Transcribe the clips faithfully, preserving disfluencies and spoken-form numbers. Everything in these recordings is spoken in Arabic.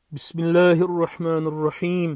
بسم الله الرحمن الرحيم.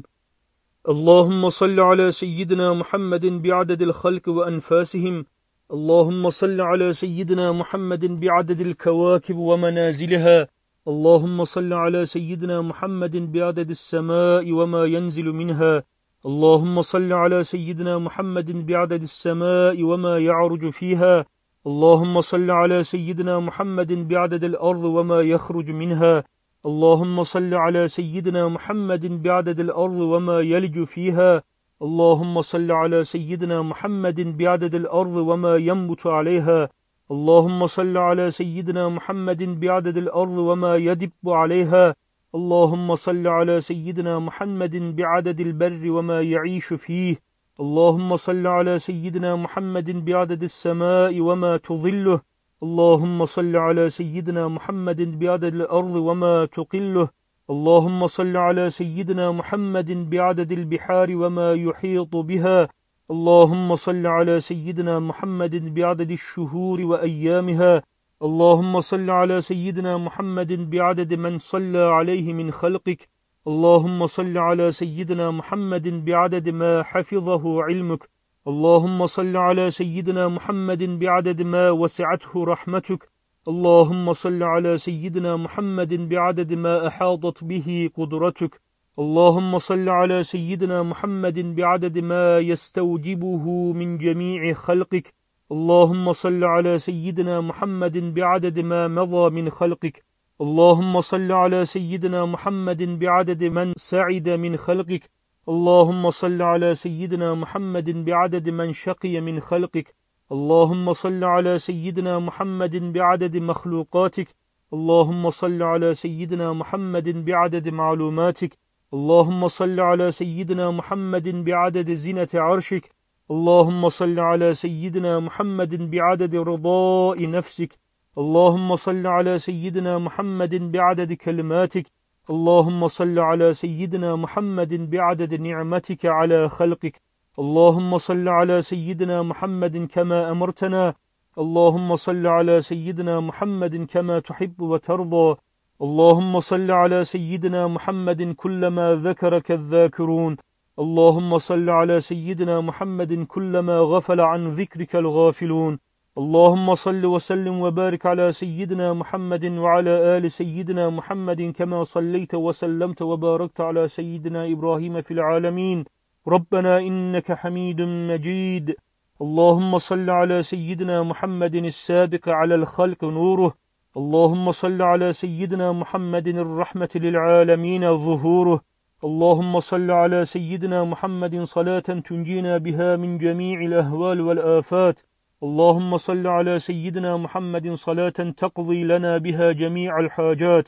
اللهم صل على سيدنا محمد بعدد الخلق وأنفاسهم. اللهم صل على سيدنا محمد بعدد الكواكب ومنازلها. اللهم صل على سيدنا محمد بعدد السماء وما ينزل منها. اللهم صل على سيدنا محمد بعدد السماء وما يعرج فيها. اللهم صل على سيدنا محمد بعدد الأرض وما يخرج منها. اللهم صل على سيدنا محمد بعدد الأرض وما يلج فيها. اللهم صل على سيدنا محمد بعدد الأرض وما ينبت عليها. اللهم صل على سيدنا محمد بعدد الأرض وما يدب عليها. اللهم صل على سيدنا محمد بعدد البر وما يعيش فيه. اللهم صل على سيدنا محمد بعدد السماء وما تظله. اللهم صل على سيدنا محمد بعدد الأرض وما تقله. اللهم صل على سيدنا محمد بعدد البحار وما يحيط بها. اللهم صل على سيدنا محمد بعدد الشهور وأيامها. اللهم صل على سيدنا محمد بعدد من صلى عليه من خلقك. اللهم صل على سيدنا محمد بعدد ما حفظه علمك. اللهم صل على سيدنا محمد بعدد ما وسعته رحمتك. اللهم صل على سيدنا محمد بعدد ما أحاطت به قدرتك. اللهم صل على سيدنا محمد بعدد ما يستوجبه من جميع خلقك. اللهم صل على سيدنا محمد بعدد ما مضى من خلقك. اللهم صل على سيدنا محمد بعدد من سعد من خلقك. اللهم صل على سيدنا محمد بعدد من شقي من خلقك. اللهم صل على سيدنا محمد بعدد مخلوقاتك. اللهم صل على سيدنا محمد بعدد معلوماتك. اللهم صل على سيدنا محمد بعدد زنة عرشك. اللهم صل على سيدنا محمد بعدد رضاء نفسك. اللهم صل على سيدنا محمد بعدد كلماتك. اللهم صل على سيدنا محمد بعدد نعمتك على خلقك. اللهم صل على سيدنا محمد كما أمرتنا. اللهم صل على سيدنا محمد كما تحب وترضى. اللهم صل على سيدنا محمد كلما ذكرك الذاكرون. اللهم صل على سيدنا محمد كلما غفل عن ذكرك الغافلون. اللهم صل وسلم وبارك على سيدنا محمد وعلى آل سيدنا محمد كما صليت وسلمت وباركت على سيدنا إبراهيم في العالمين. ربنا إنك حميد مجيد. اللهم صل على سيدنا محمد السابق على الخلق نوره. اللهم صل على سيدنا محمد الرحمة للعالمين ظهوره. اللهم صل على سيدنا محمد صلاة تنجينا بها من جميع الأهوال والآفات. اللهم صل على سيدنا محمد صلاة تقضي لنا بها جميع الحاجات.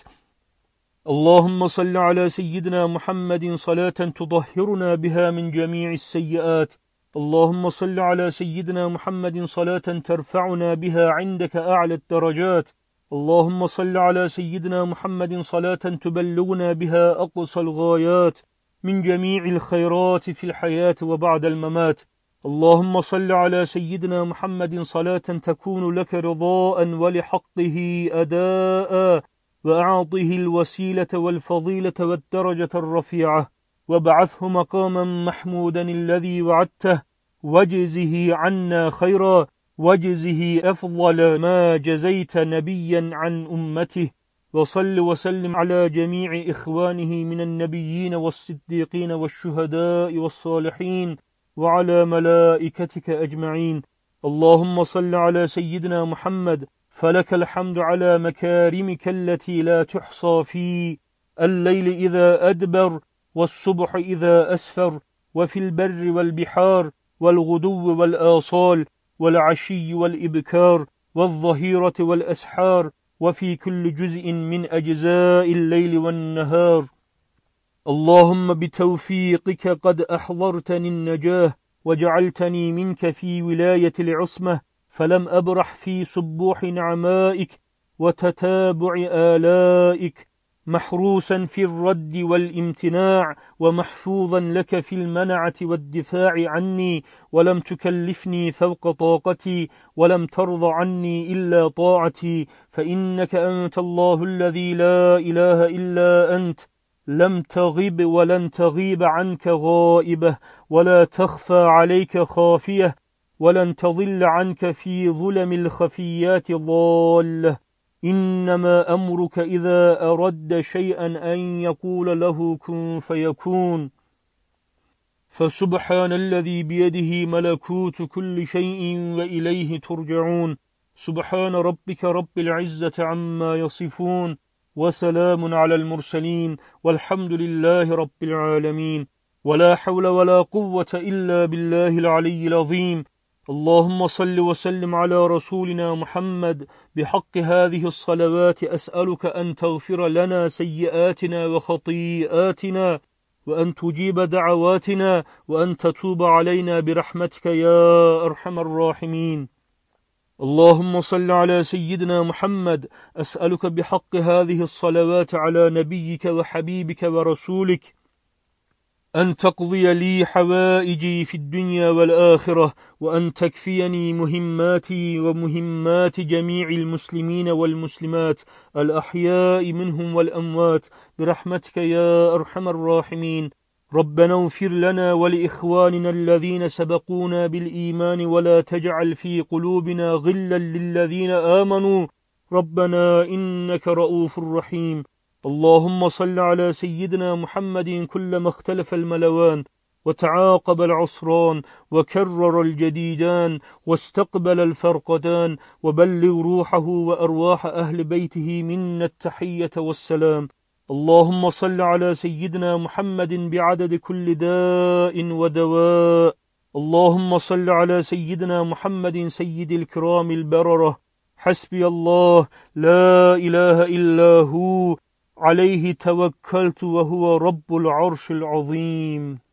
اللهم صل على سيدنا محمد صلاة تطهرنا بها من جميع السيئات. اللهم صل على سيدنا محمد صلاة ترفعنا بها عندك أعلى الدرجات. اللهم صل على سيدنا محمد صلاة تبلغنا بها أقصى الغايات من جميع الخيرات في الحياة وبعد الممات. اللهم صل على سيدنا محمد صلاة تكون لك رضاء ولحقه أداء، وأعطه الوسيلة والفضيلة والدرجة الرفيعة، وابعثه مقاما محمودا الذي وعدته، واجزه عنا خيرا، واجزه أفضل ما جزيت نبيا عن أمته. وصل وسلم على جميع إخوانه من النبيين والصديقين والشهداء والصالحين وعلى ملائكتك أجمعين. اللهم صل على سيدنا محمد، فلك الحمد على مكارمك التي لا تحصى في الليل إذا أدبر، والصبح إذا أسفر، وفي البر والبحار، والغدو والآصال، والعشي والإبكار، والظهيرة والأسحار، وفي كل جزء من أجزاء الليل والنهار. اللهم بتوفيقك قد أحضرتني النجاة، وجعلتني منك في ولاية العصمة، فلم أبرح في صبوح نعمائك وتتابع آلائك، محروسا في الرد والامتناع، ومحفوظا لك في المنعة والدفاع عني، ولم تكلفني فوق طاقتي، ولم ترض عني إلا طاعتي، فإنك أنت الله الذي لا إله إلا أنت، لم تغب ولن تغيب عنك غائبة، ولا تخفى عليك خافية، ولن تضل عنك في ظلم الخفيات ضالة. إنما أمرك إذا أرد شيئا أن يقول له كن فيكون. فسبحان الذي بيده ملكوت كل شيء وإليه ترجعون. سبحان ربك رب العزة عما يصفون، وسلام على المرسلين، والحمد لله رب العالمين. ولا حول ولا قوة إلا بالله العلي العظيم. اللهم صل وسلم على رسولنا محمد. بحق هذه الصلوات أسألك أن تغفر لنا سيئاتنا وخطيئاتنا، وأن تجيب دعواتنا، وأن تتوب علينا برحمتك يا أرحم الراحمين. اللهم صل على سيدنا محمد. أسألك بحق هذه الصلوات على نبيك وحبيبك ورسولك أن تقضي لي حوائجي في الدنيا والآخرة، وأن تكفيني مهماتي ومهمات جميع المسلمين والمسلمات الأحياء منهم والأموات برحمتك يا أرحم الراحمين. ربنا اغفر لنا ولإخواننا الذين سبقونا بالإيمان، ولا تجعل في قلوبنا غلا للذين آمنوا ربنا إنك رؤوف رحيم. اللهم صل على سيدنا محمد. كلما اختلف الملوان وتعاقب العصران وكرر الجديدان واستقبل الفرقدان، وبلغ روحه وأرواح أهل بيته منا التحية والسلام. اللهم صل على سيدنا محمد بعدد كل داء ودواء. اللهم صل على سيدنا محمد سيد الكرام البررة. حسبي الله لا إله إلا هو، عليه توكلت وهو رب العرش العظيم.